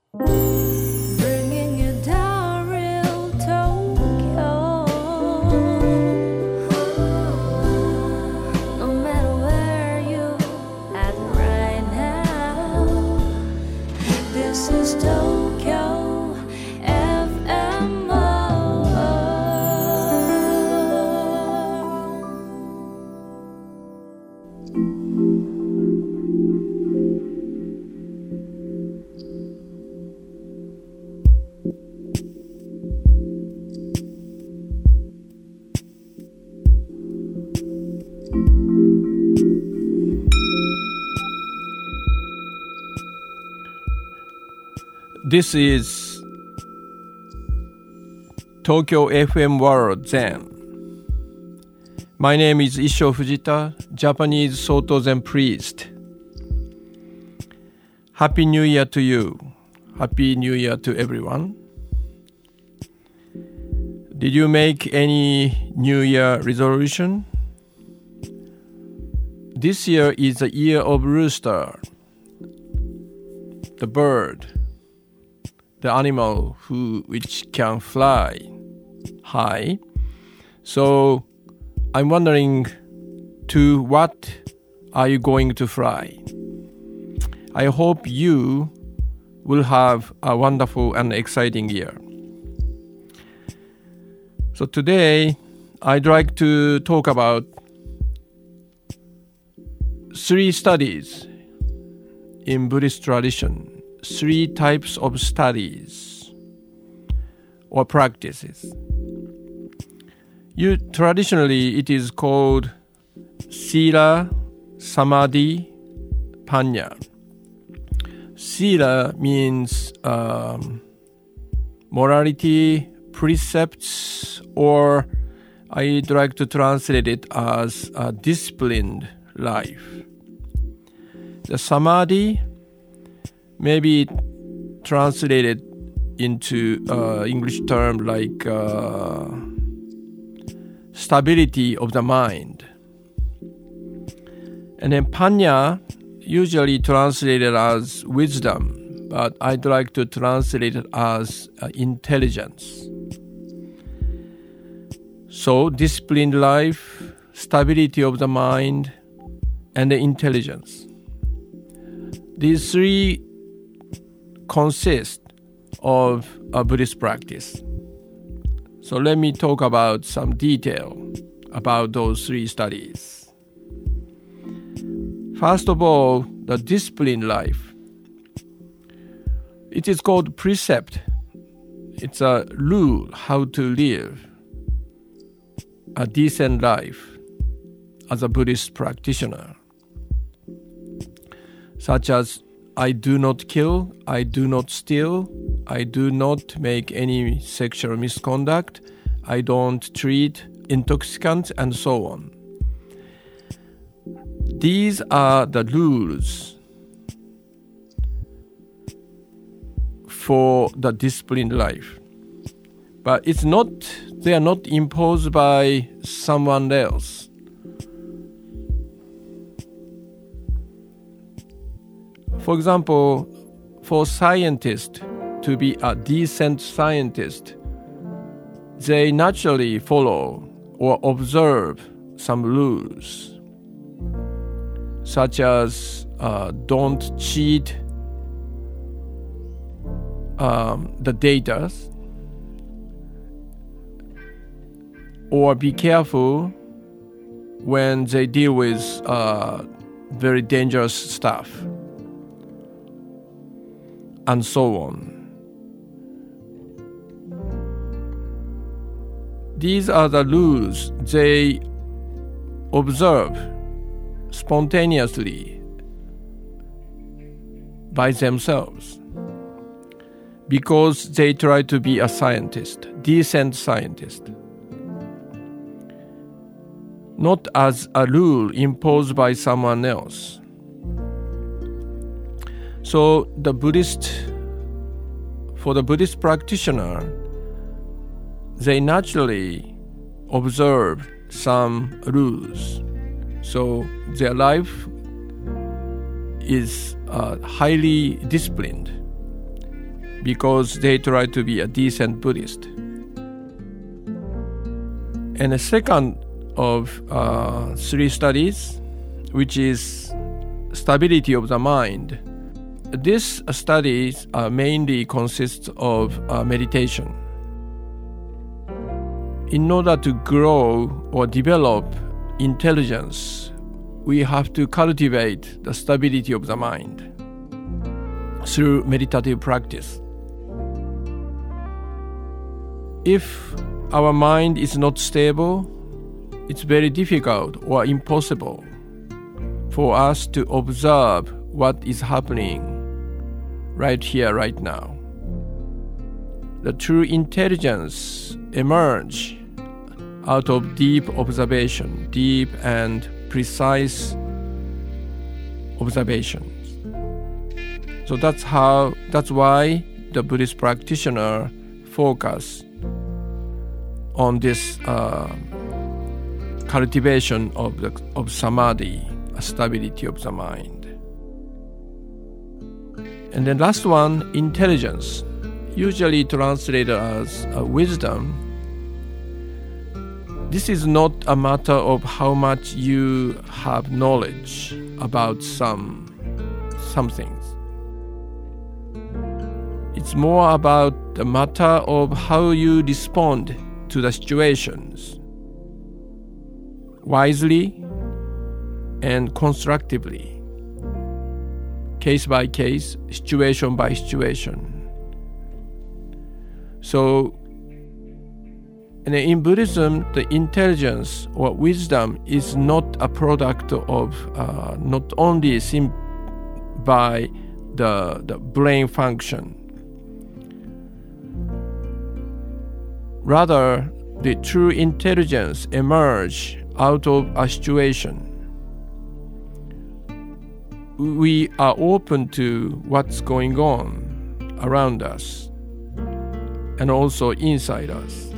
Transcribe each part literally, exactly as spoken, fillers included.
Bringing you down real Tokyo. No matter where you at right now, this is Tokyo F M. This is Tokyo F M World Zen. My name is Issho Fujita, Japanese Soto Zen priest. Happy New Year to you. Happy New Year to everyone. Did you make any New Year resolution? This year is the year of rooster, the bird, the animal who which can fly high. So I'm wondering, to what are you going to fly? I hope you will have a wonderful and exciting year. So today I'd like to talk about three studies in Buddhist tradition. Three types of studies or practices. You traditionally it is called Sila, Samadhi, Panya. Sila means um, morality, precepts, or I'd like to translate it as a disciplined life. The Samadhi may be translated into uh, English term like uh, stability of the mind. And then Panya, usually translated as wisdom, but I'd like to translate it as uh, intelligence. So disciplined life, stability of the mind, and the intelligence. These three consist of a Buddhist practice. So let me talk about some detail about those three studies. First of all, the disciplined life. It is called precept. It's a rule how to live a decent life as a Buddhist practitioner, such as I do not kill, I do not steal, I do not make any sexual misconduct, I don't treat intoxicants, and so on. These are the rules for the disciplined life. But it's not, they are not imposed by someone else. For example, for scientists to be a decent scientist, they naturally follow or observe some rules, such as uh, don't cheat um, the data, or be careful when they deal with uh, very dangerous stuff, and so on. These are the rules they observe spontaneously by themselves, because they try to be a scientist, decent scientist, not as a rule imposed by someone else. So the Buddhist, for the Buddhist practitioner, they naturally observe some rules. So their life is uh, highly disciplined. because they try to be a decent Buddhist. And the second of uh, three studies, which is stability of the mind. This studies uh, mainly consists of uh, meditation. In order to grow or develop intelligence, we have to cultivate the stability of the mind through meditative practice. If our mind is not stable, it's very difficult or impossible for us to observe what is happening right here, right now. The true intelligence emerges out of deep observation, deep and precise observations. So that's how, that's why the Buddhist practitioner focus on this uh, cultivation of the of samadhi, a stability of the mind. And then last one, intelligence, usually translated as uh, wisdom. This is not a matter of how much you have knowledge about some some things. It's more about the matter of how you respond to the situations, wisely and constructively, case by case, situation by situation. So, and in Buddhism, the intelligence or wisdom is not a product of uh, not only sim- by the, the brain function. Rather, the true intelligence emerges out of a situation. We are open to what's going on around us and also inside us.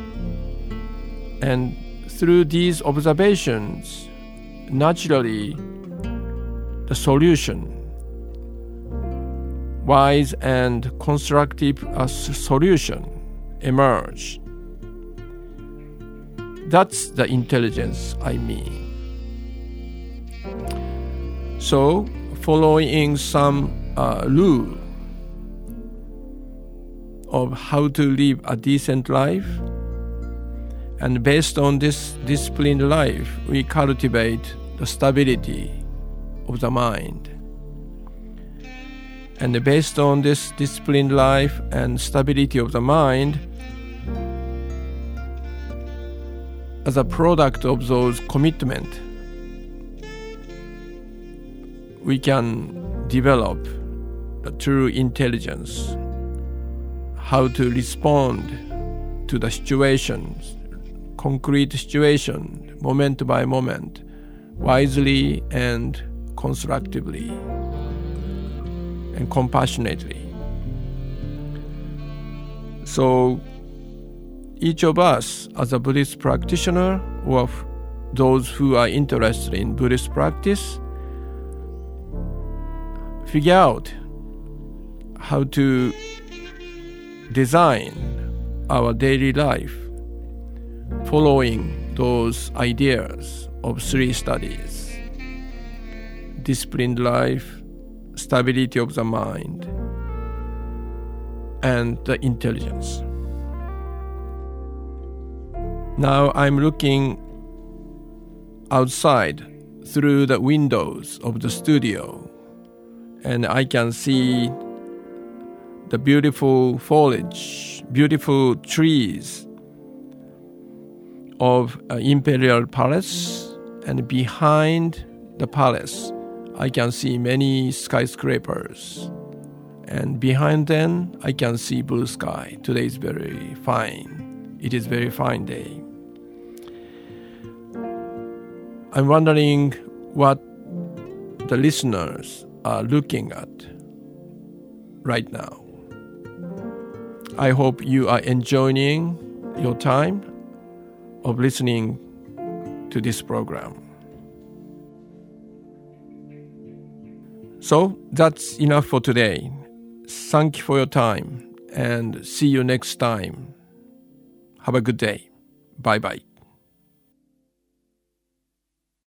And through these observations, naturally, the solution, wise and constructive uh, solution, emerge. That's the intelligence I mean. So, following some uh, rule of how to live a decent life, and based on this disciplined life, we cultivate the stability of the mind. And based on this disciplined life and stability of the mind, as a product of those commitments, we can develop the true intelligence, how to respond to the situations, concrete situation, moment by moment, wisely and constructively and compassionately. So each of us as a Buddhist practitioner or those who are interested in Buddhist practice figure out how to design our daily life following those ideas of three studies: disciplined life, stability of the mind, and the intelligence. Now I'm looking outside through the windows of the studio, and I can see the beautiful foliage, beautiful trees of uh, Imperial Palace, and behind the palace I can see many skyscrapers, and behind them I can see blue sky. Today is very fine. It is very fine day. I'm wondering what the listeners are looking at right now. I hope you are enjoying your time of listening to this program. So that's enough for today. Thank you for your time and see you next time. Have a good day. Bye bye.